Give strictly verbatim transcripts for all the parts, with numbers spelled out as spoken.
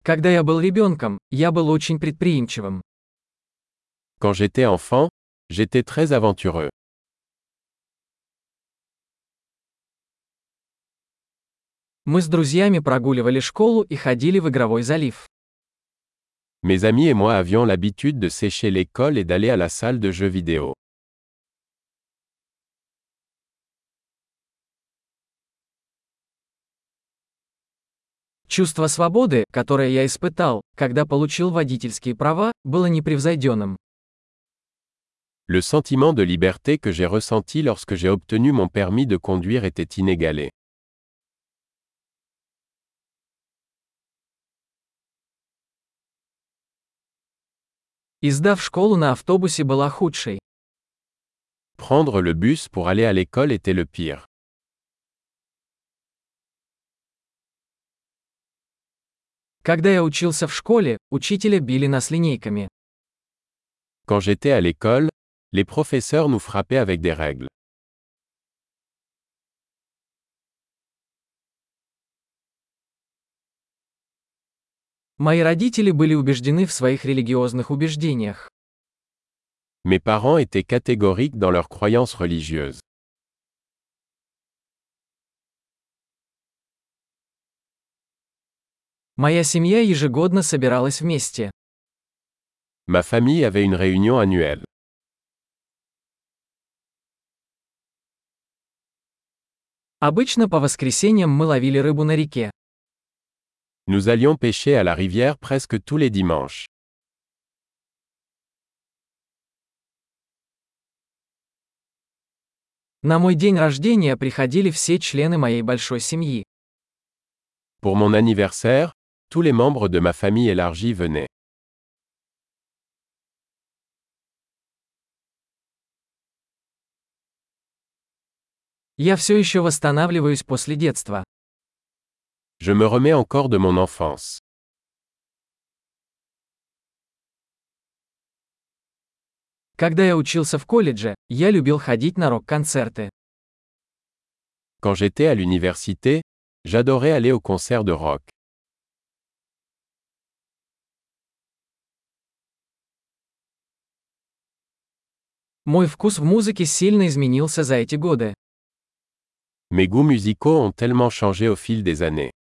Когда я был ребенком, я был очень предприимчивым. Quand j'étais enfant, j'étais très aventureux. Мы с друзьями прогуливали школу и ходили в игровой залив. Mes amis et moi avions l'habitude de sécher l'école et d'aller à la salle de jeux vidéo. Чувство свободы, которое я испытал, когда получил водительские права, было непревзойденным. Le sentiment de liberté que j'ai ressenti lorsque j'ai obtenu mon permis de conduire était inégalé. И сдав школу на автобусе была худшей. Prendre le bus pour aller à l'école était le pire. Когда я учился в школе, учителя били нас линейками. Quand j'étais à l'école, les professeurs nous frappaient avec des règles. Мои родители были убеждены в своих религиозных убеждениях. Mes parents étaient catégoriques dans leurs croyances religieuses. Моя семья ежегодно собиралась вместе. Ma famille avait une réunion annuelle. Обычно по воскресеньям мы ловили рыбу на реке. Nous allions pêcher à la rivière presque tous les dimanches. На мой день рождения приходили все члены моей большой семьи. Pour mon anniversaire, tous les membres de ma famille élargie venaient. Я все еще восстанавливаюсь после детства. Je me remets encore de mon enfance. Когда я учился в колледже, я любил ходить на рок-концерты. Quand j'étais à l'université, j'adorais aller aux concerts de rock. Мой вкус в музыке сильно изменился за эти годы. Mes goûts musicaux ont tellement changé au fil des années.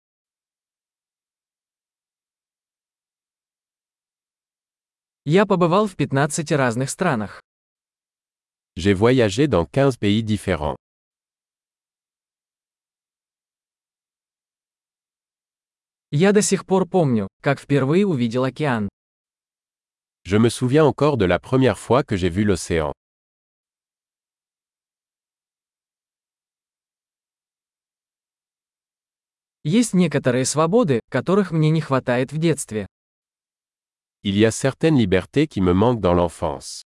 Я побывал в пятнадцати разных странах. J'ai voyagé dans quinze pays différents. Я до сих пор помню, как впервые увидел океан. Je me souviens encore de la première fois que j'ai vu l'océan. Есть некоторые свободы, которых мне не хватает в детстве. Il y a certaines libertés qui me manquent dans l'enfance.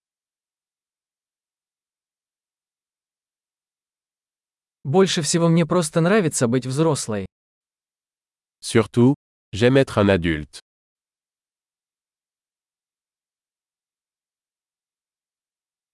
Больше всего мне просто нравится быть взрослой. Surtout, j'aime être un adulte.